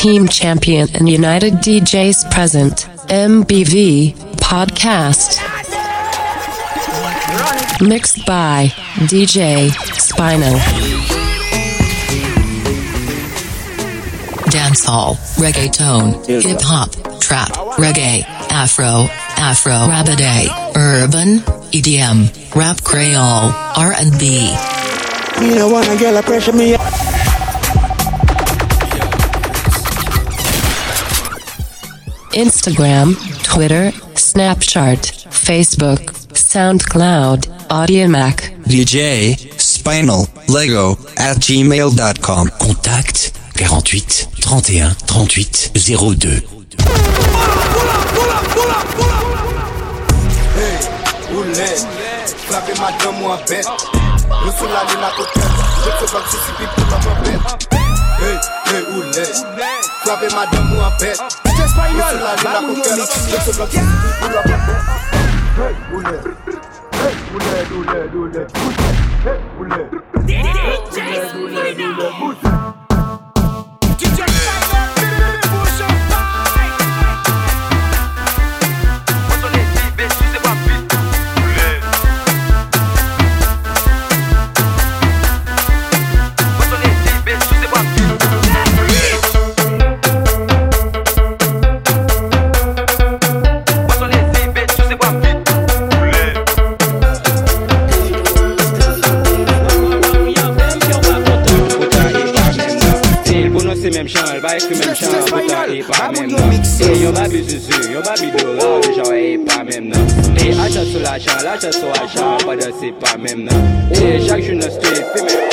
Team Champion and United DJs present. MBV Podcast. Mixed by DJ Spino. Dancehall, reggaeton, hip-hop, trap, reggae, afro, rabidae, urban, EDM, rap creole, R&B. Me no wanna get a pressure me. Instagram, Twitter, Snapchat, Facebook, SoundCloud, Audiomack. DJ Spinal Lego @gmail.com. Contact 48 31 38 02. Hey, oulé, clapez madame ou un bête. Nous sommes là, les narcotiques. Je te vois que je suis pipi comme un bête. Hey, oulé, clapez madame ou un bête. Nous sommes là, les narcotiques. Je te vois que je suis pipi comme un bête. Hey, oulé, même chant, elle va écrire même chant, pourtant il pas même non. Et y'a ma bise dessus, y'a ma bide là, le genre est pas même non. Et achat sur l'achat sur achat, pas de c'est pas même non. Et chaque jour dans street, fait même.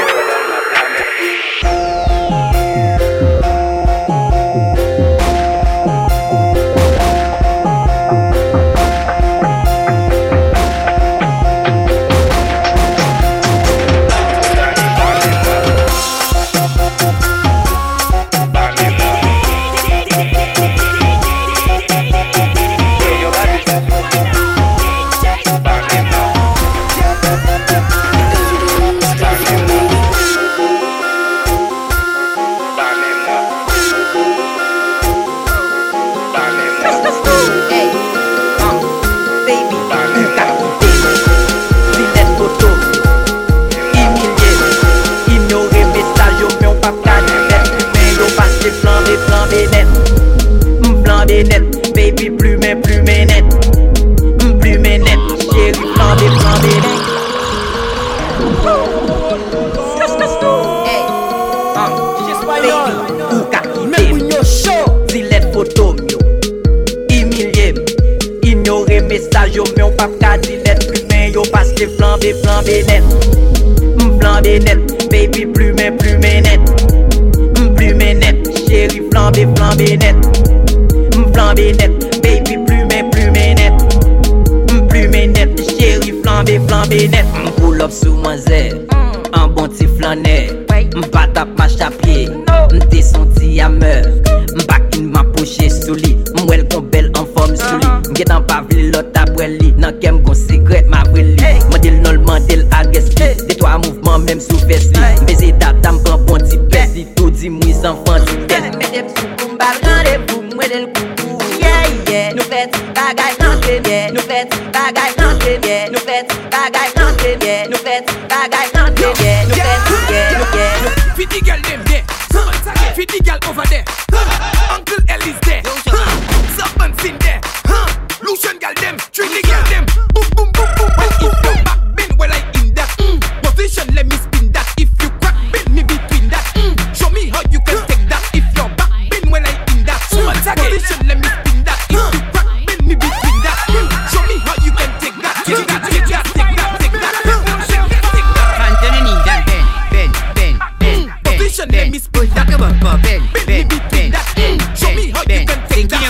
Baby, plus mais net. Plus mais net, chérie, flambé net. Hey, baby, ou ka kite Zilette photo myo humilié ignorer message yo, mais on pas ka Zilette plus mais yo, parce que flambé net. Flambé net, baby, plus mais net. Plus mais net, chérie, flambé net. Flambé net, baby, plus mais net. Plus mais net, chérie, flambé net. Pull up sous moi zè, un bon petit flaneur. M'pas tap marche à pied, m'te senti à meurtre. M'bakin ma poche sous lit, m'well kon belle en forme sous lit. M'get en pa vle l'autre après lit, nan kem kon secret ma vrai lit. Mandel non mandel agresse, des trois mouvements même sous fesse li. M'baiser data m'prend bon petit pèse li, tout dit mouise enfant ti tête. Mette sous pou m'bal rendez-vous, m'wedel coucou. Yeah, nous faites bagay rentré, yeah, nous faites bagay rentré, yeah, nous faites bagay rentré, yeah, nous faites bagay rentré, yeah, nous faites, yeah. Fifty girl them there, 50 girl over there, Uncle Ellie's there, Serpent's in there, Lucian girl them, Trinity girl them, boom boom boom boom. If you back bend well I in that position, let me spin that. If you crack bend me between that, show me how you can take that. If your back bend well I in that position, let me spin that. If you crack bend me between that, show me how you can take that. Take that. Position, let me spin that. Bend me between that. Show me how you can take that.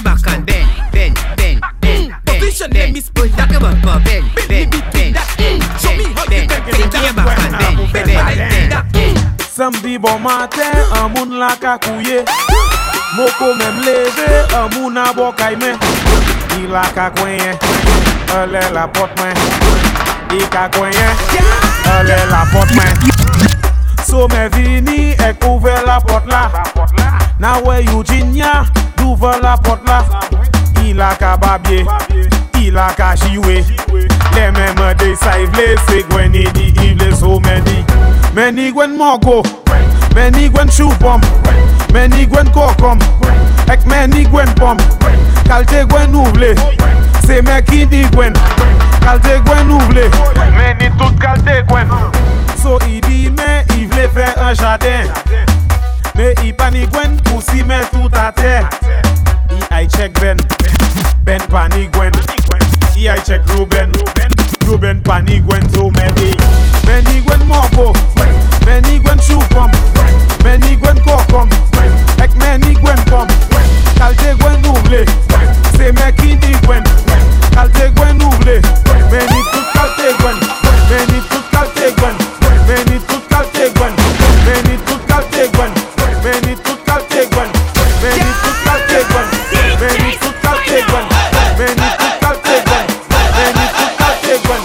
Position, let me spin that. Bend me between that. Show me how you can take that. Samedi bon matin, un moun la ka kouye. Moko même levé, un moun a bo kaime. Il la ka kwenye, elle est la porte main. Il ka kwenye, elle est la porte main. So me vini, e couvert la porte là. Now where Eugenia, d'ouvre la porte là. Il a qu'à babier, il a qu'à chiouer. Les mêmes des saïvles, c'est Gwen et dit, il est so many. Many Gwen Mogo, many Gwen Choupom, many Gwen Kokom, ek many Gwen Pom. Kalte Gwen ouvle, c'est mec qui dit Gwen. Kalte Gwen ouvle, many tout kalte Gwen. So il dit, mais il voulait faire un jardin. Mais il panique Gwen pour s'y mettre tout à terre. I check Ben panique Gwen. I check Ruben panique Gwen so many. Many Gwen Mogo, many Gwen Choupom, many Gwen Kokom, ek many Gwen Pom. Kalte Gwen ouvle, c'est mec qui dit Gwen. Kalte Gwen ouvle, many tout kalte Gwen, many tout kalte Gwen, many tout kalte Gwen, many tout kalte Gwen, many tout kalte Gwen, many tout kalte Gwen, many tout kalte Gwen, many tout kalte Gwen, many tout kalte Gwen.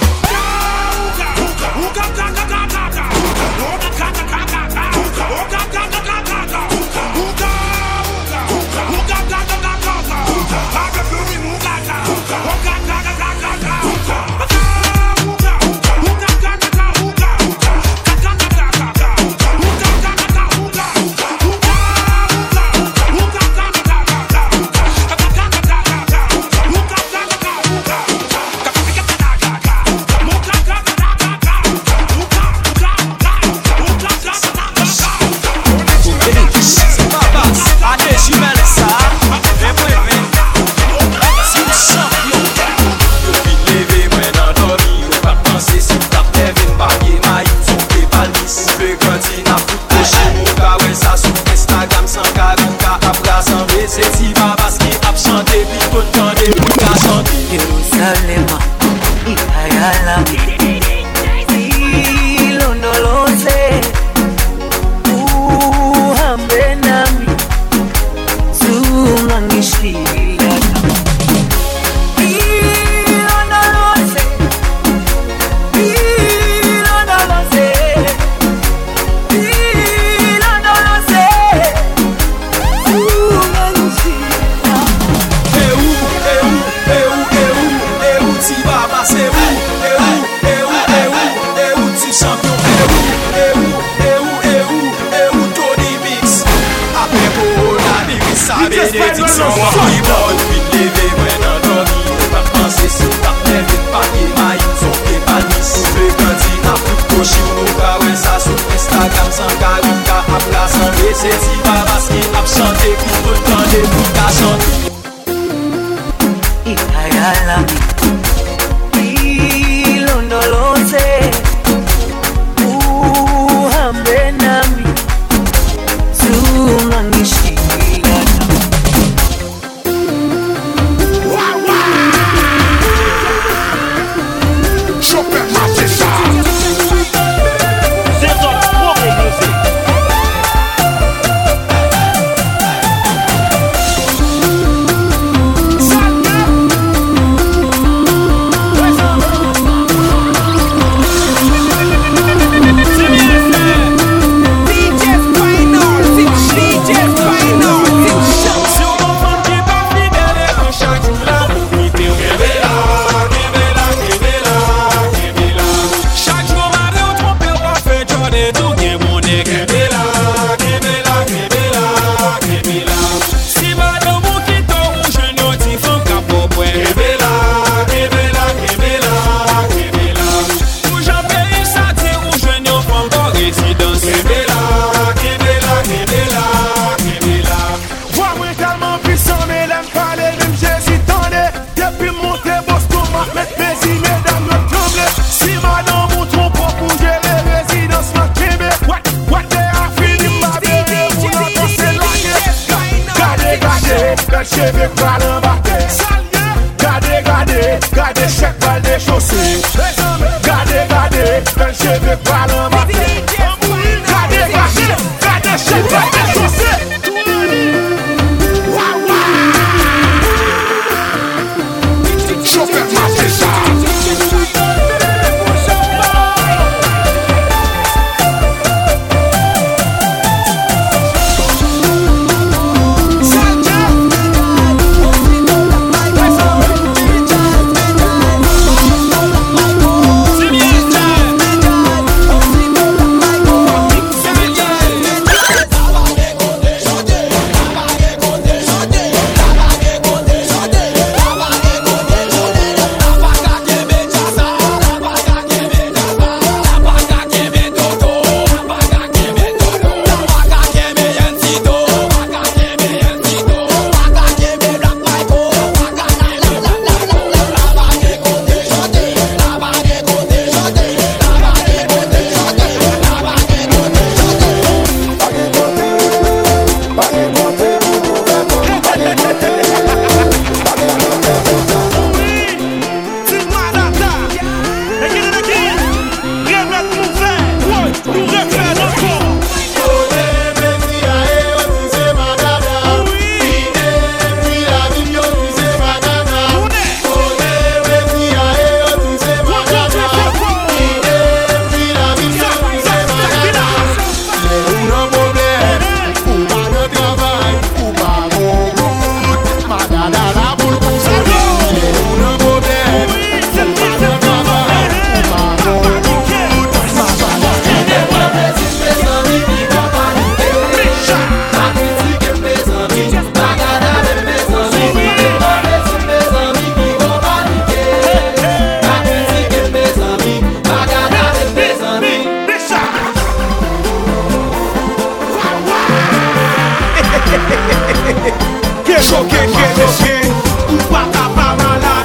choqué, ou pas capable malade.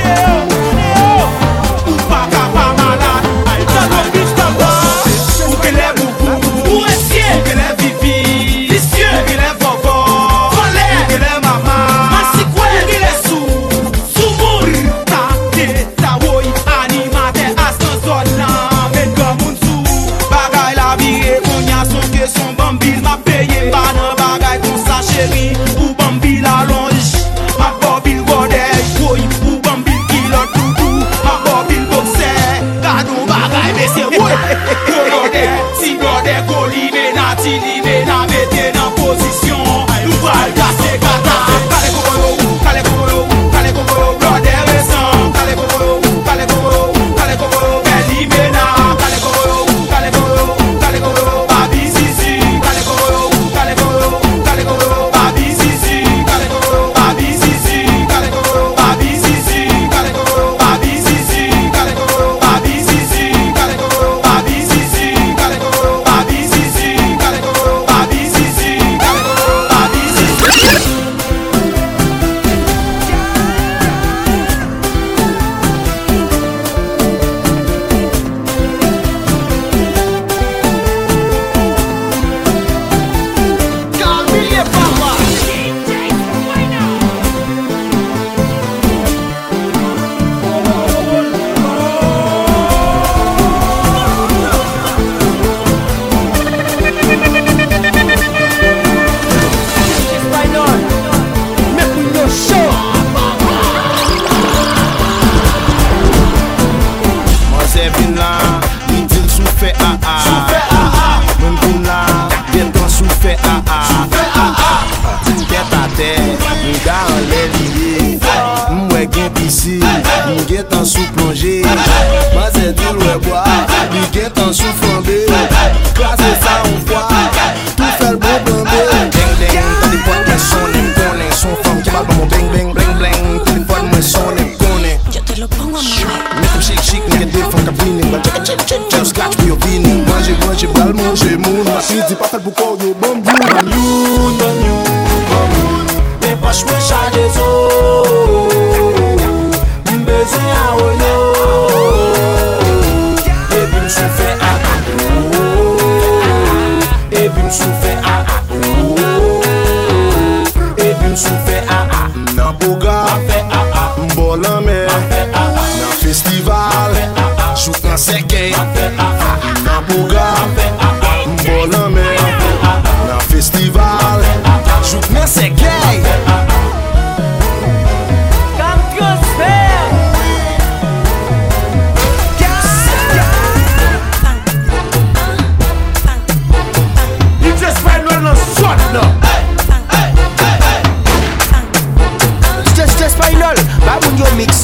Ou pas capable malade. Ou que les boubous, ou est-ce que les vivi, vicieux, ou que les bobos, ou que les mamans, massicoué, ou que les sous-mour, ta woy, animate, astan zona, men comme un sou, bagay la vie, qu'on y a son que son bambil m'a payé, pas nan bagay kon sa chérie, ou bambil la longe, ma bobil godej, woy, ou bambil ki lot doudou, ma bobil boxe, gado bagay mese, woy, si godej koline na ti live na mette nan posisyon, nou val kase kata, kale kokoro, godej resan, kale kokoro, bel live na, kale kokoro, babi zizi, kale kokoro, babi zizi, kale kokoro, babi zizi, kale kokoro, babi zizi, kale kokoro, babi zizi, kale kokoro, babi zizi, kale kokoro, babi zizi, kale kokoro, babi zizi, kale kokoro, babi zizi, kale kokoro, babi zizi. Camille Papa. Espagnol, mais pour le show. Moi c'est vin là, il dit souffle Mon vin là, bien temps souffle Get à terre, m'ga en l'air lié, m'oué gen piscine, m'get en sous plongé. Moi c'est dit ouais bois, m'get en sous flambé. Classe ça on voit, tout fait le bon blambé. Bang bang, téléphone moi sonne, connaît son femme qui parle dans mon bang bang bling bling. Téléphone moi sonne, connaît. Yo te lo pongo a mover. Make them shake shake, make it different cabine. But check, just scratch for your vini. Manger, bal manger, moon. Ma fille dit pas fait pour quoi yo bon blue. Mais pas je me charge zo. M'baiser à oyo. Et puis m'souffle et puis m'souffle et puis m'souffle nan boga, m'bol en mer, nan festival, jouk nan sekey, nan boga, m'bol en mer, nan festival, jouk nan sekey. Kam transfer. You just find one on shot now. Just final, baboun yo mix.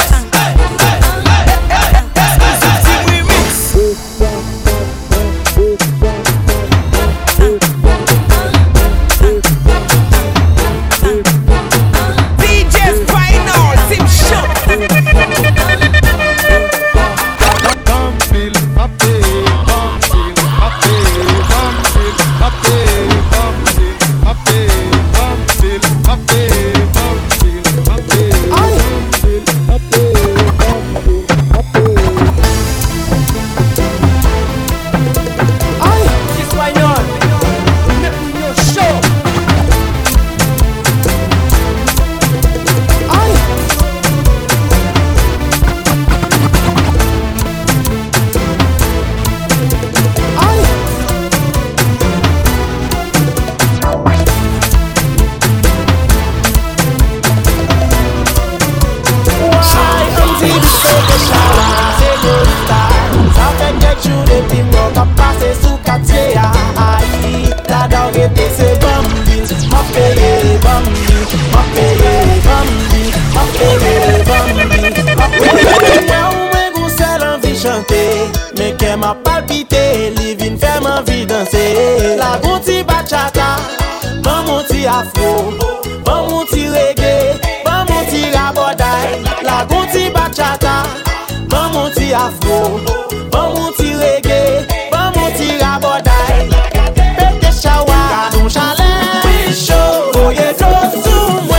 Mais qu'elle m'a palpité, living fait m'envie danser. La gonti bachata, ban mon ti afro, ban mon ti reggae, ban mon ti raboday. La gonti bachata, ban mon ti afro, ban mon ti reggae, ban mon ti raboday. Pete shawa, kadon chalet, chaud, voye do zoom.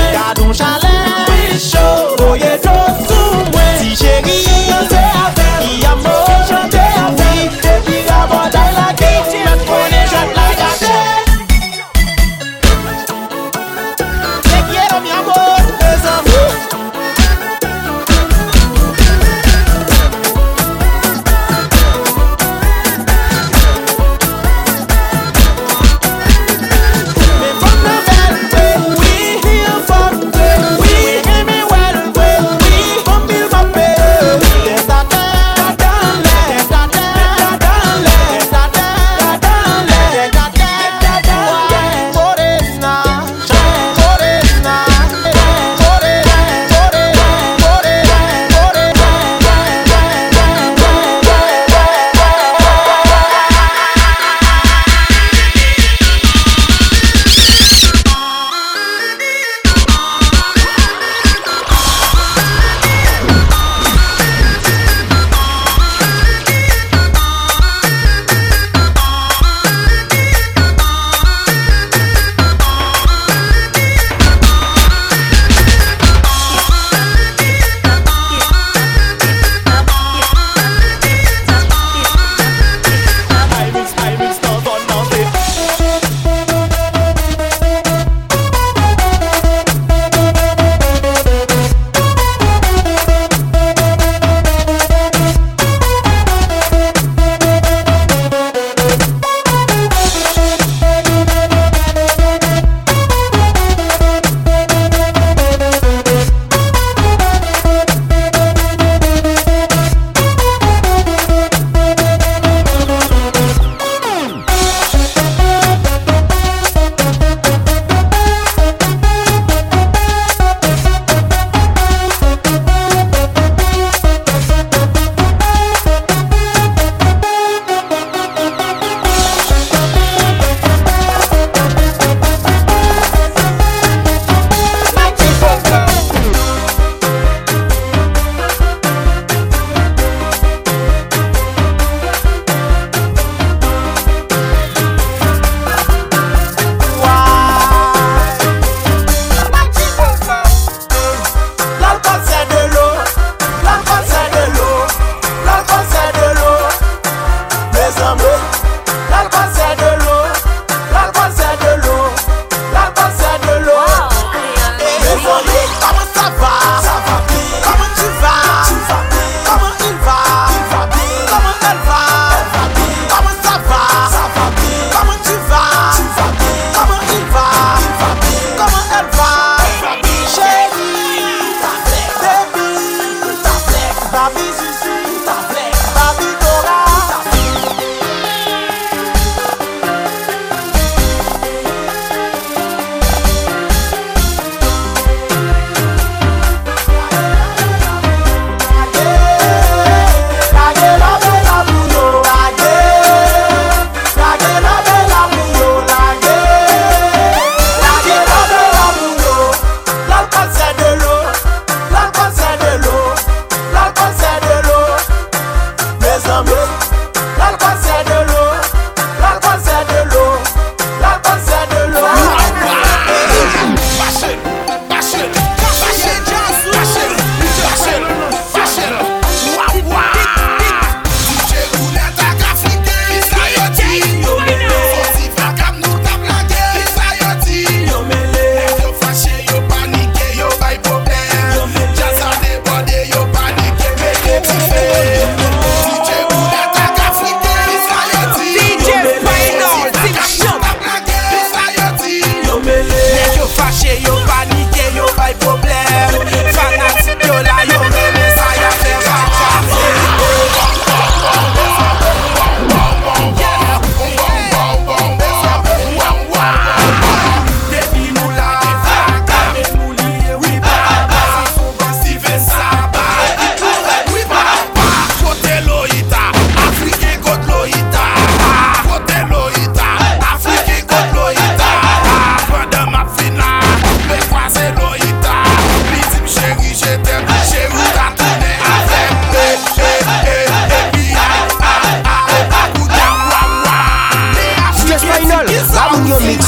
Final, Baboun yo mix.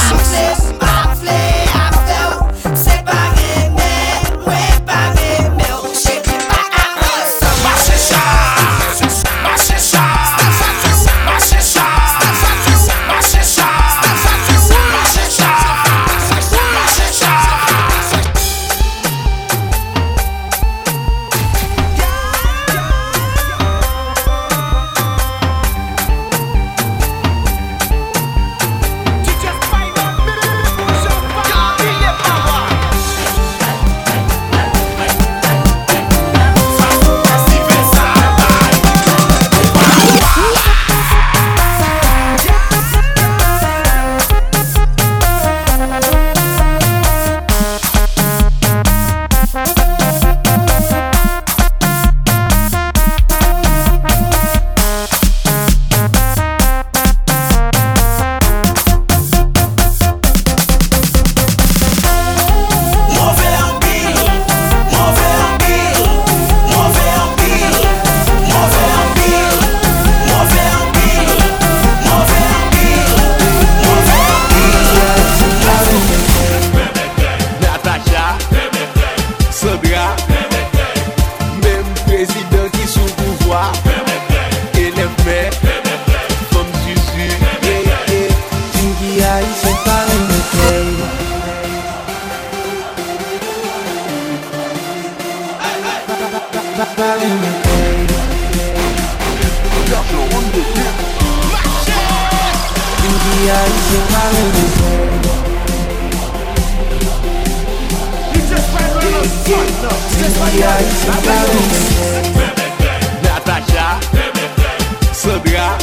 Natacha, Sandra,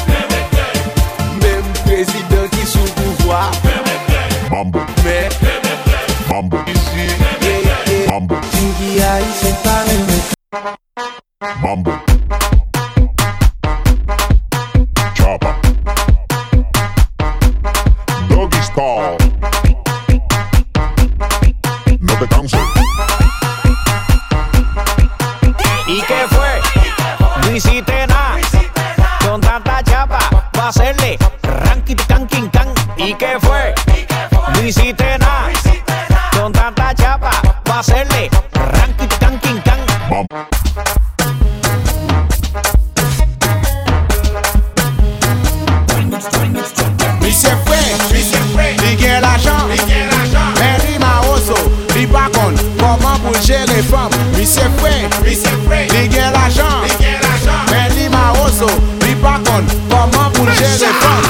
même président qui sous pouvoir. Mambo, mais Mambo, ici, Mambo, Mambo, Chopper, Doggy Style, no te canses. ¿Y qué fue? No hiciste nada con tanta chapa pa' hacerle ranking canking can. ¿Y qué fue? No hiciste nada con tanta chapa pa' hacerle ranking canking can. Mi se fwe, li gen l'argent, men li ma oso, li pa kon, koman pou jere fam. Mi se fwe, li gen l'argent, men li ma oso, li pa kon, koman pou jere fam.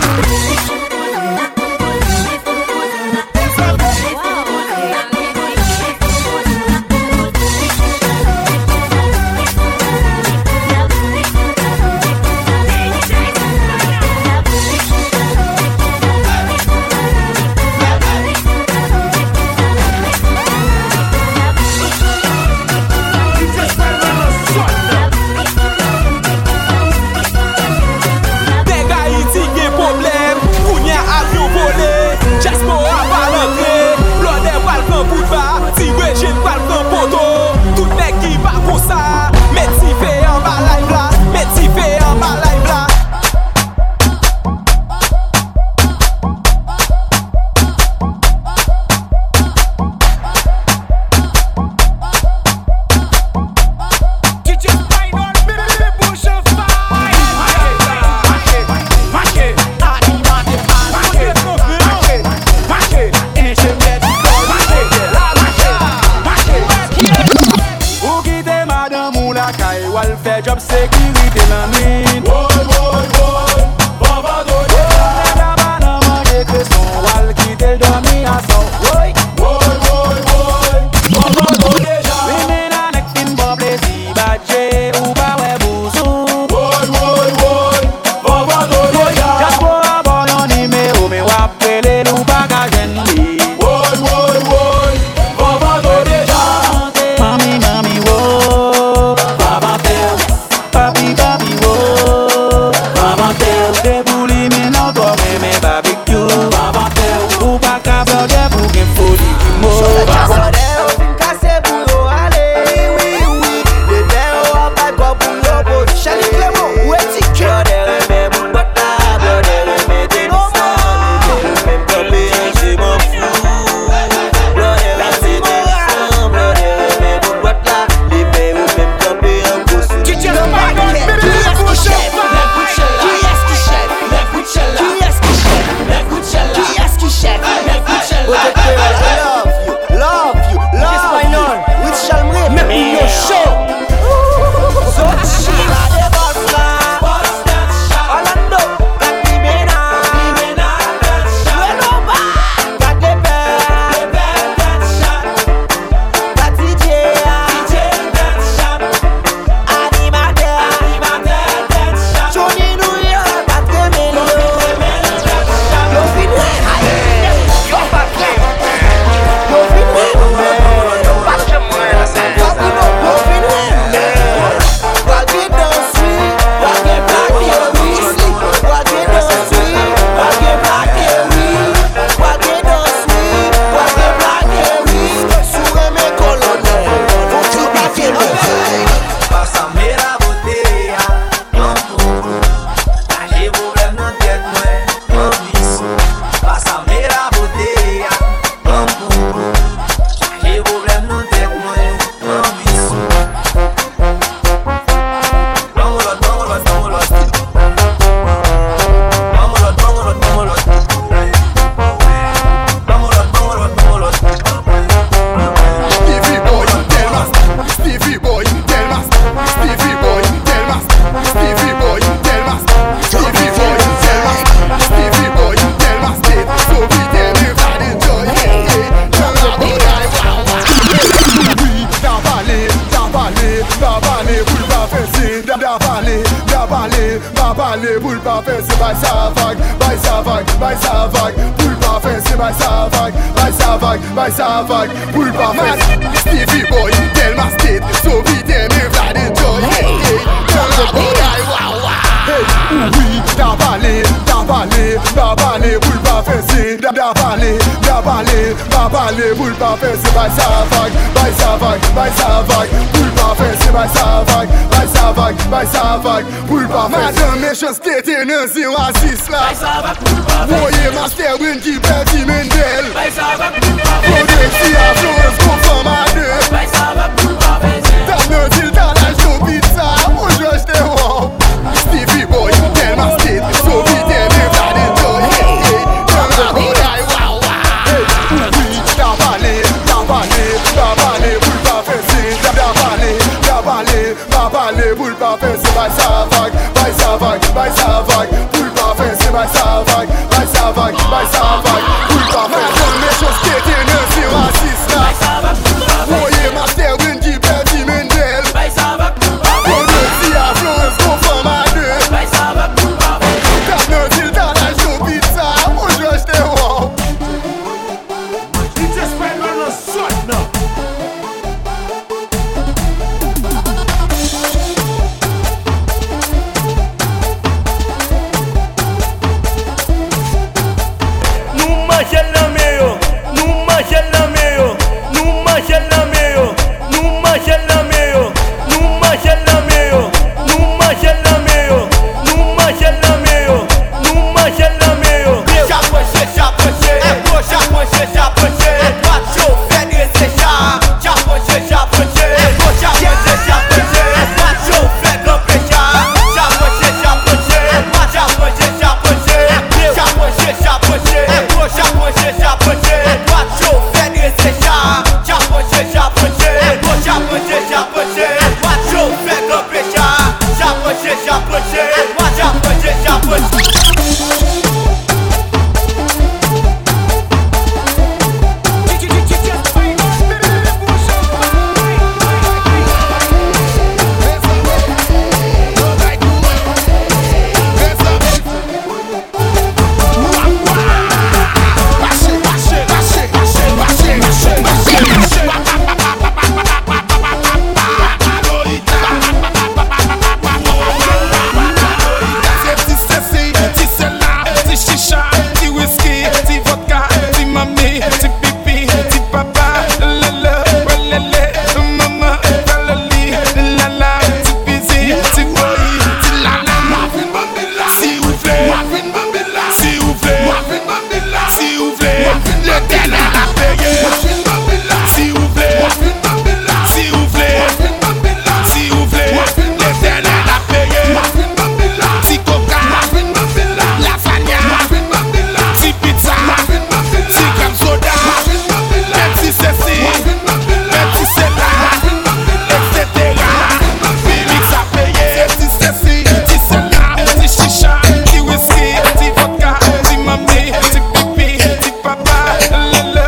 Job sécurité la nuit. Woy, woy, woy, baba do de la bana mange que son wal qui te dormi à son. Woy, woy, woy, woy, baba do déjà. Mena nek fin bon plaisir badje ou ba we bouzou. Woy, woy, woy, baba do déjà. Just pour avoir un numéro mais wapele ou bagagen li. Woy, woy, woy, baba do déjà. Mami, mami, woy, baba tel. Papi, papi, oh, Baba Tel, débouli, mais non, toi, mais barbecue, Baba Tel, ou pas qu'à faire des bouquets fous. parler, pour le pas faire, c'est by sa vague, pour le pas faire, c'est by sa vague, pour le pas faire. Stevie boy, tellement state, so vite, mais vlad enjoy, oui, t'as parlé, pour le pas faire, c'est t'as parlé, pour le pas faire, c'est by sa vague, pour le pas faire, c'est by sa vague, pour le pas faire. Madame méchanceté, t'es non 0 à 6 là. Voyez master win qui perdit Mendel. Kodexi à Florence conforme à 2. T'as non dit dans la show pizza, moi je t'ai wow. Stevie boy, tellement state, so vite, mais vlad enjoy. T'as parlé, pour le pas faire, c'est t'as parlé, pour le pas faire, c'est by sa vague, pour le pas faire, c'est by sa vague, pour le pas faire. Madame méchanceté, t'es non 0 à 6 là. Voyez master win qui perdit Mendel. Kodexi à Florence conforme à 2. T'as non dit dans la show pizza, moi je t'ai wow. DJ Spinal on the sort now. La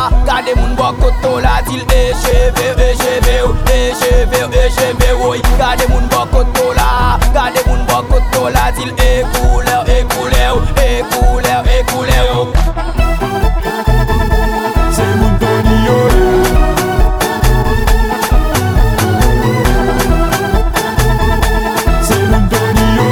Gade moun bokoto la til echeve oui. Gade moun bokoto la, gade moun bokoto la til couleur. C'est moun Tony yo. C'est moun Tony yo.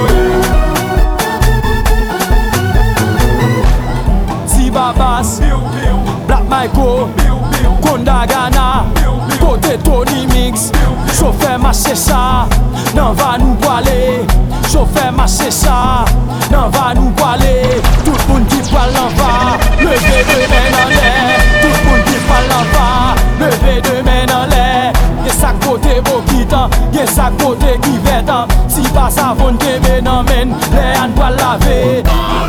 Babas, Black Michael, Konda Ghana, côté Tony Mix, chauffeur marché ça, n'en va nous boiler, chauffeur marché ça, n'en va nous boiler, tout le monde qui parle en va, levez deux mains en l'air, tout le monde qui parle en va, levez deux mains en l'air, y'a sa côté Bokita, y'a sa côté qui vêtant, si pas ça vont te ménomène, les hands doivent laver.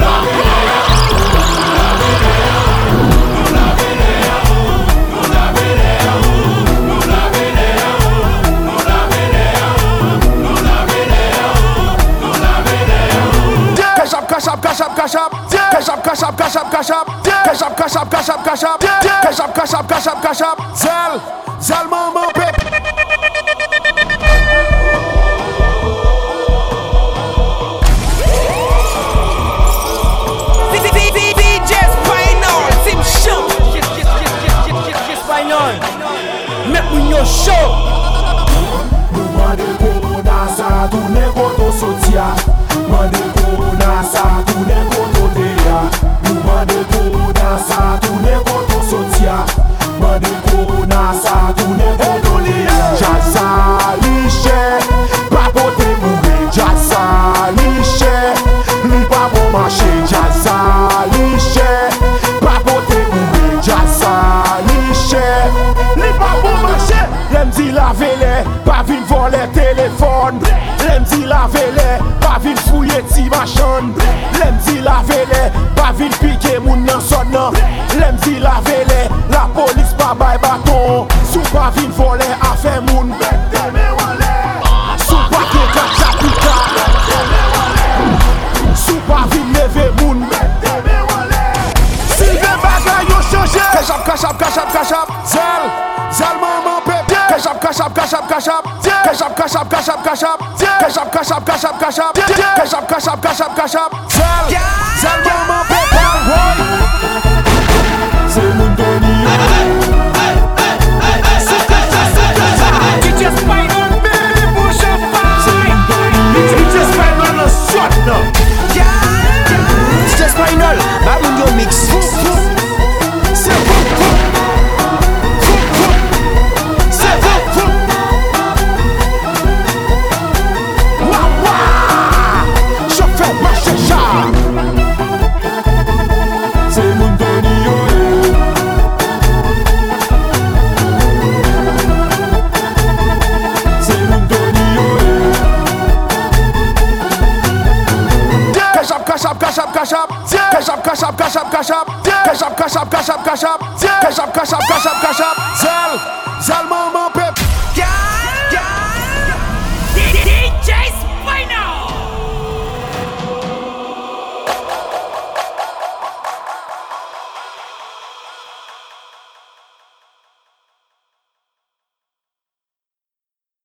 Cash up, Zal maman pep. DJ Spinal, Tim Show. Spinal, make we your show. Mande corona sa tourne koto sotia. Mande corona sa tourne koto deya. Mande corona sa tourne koto sotia. Mande corona sa tourne koto deya. Jasa liche, pa pote mourir. Jasa liche, li pa bon marché. Jasa liche, pa pote mourir. Jasa liche, li pa bon marché. Lem di la vele, pa vin voler téléphone. Lem di la vele, pa vin fouiller ti machin. Lem di la vele, pa vin piquer moun nan son nan. Lem di la vele, la police pa bay baton. Sou pa vin voler affaire moun. Sou pa ke kachapika. Sou pa vin leve moun. Si ve bagay yo chanje. Cash up, Zal maman pep. Cash up. Zal maman pep. C'est moun Tony yo. DJ Spinal, baby, push up fire. C'est moun Tony yo. DJ Spinal, no shot no. DJ Spinal, ba moun yo mix. Cash up.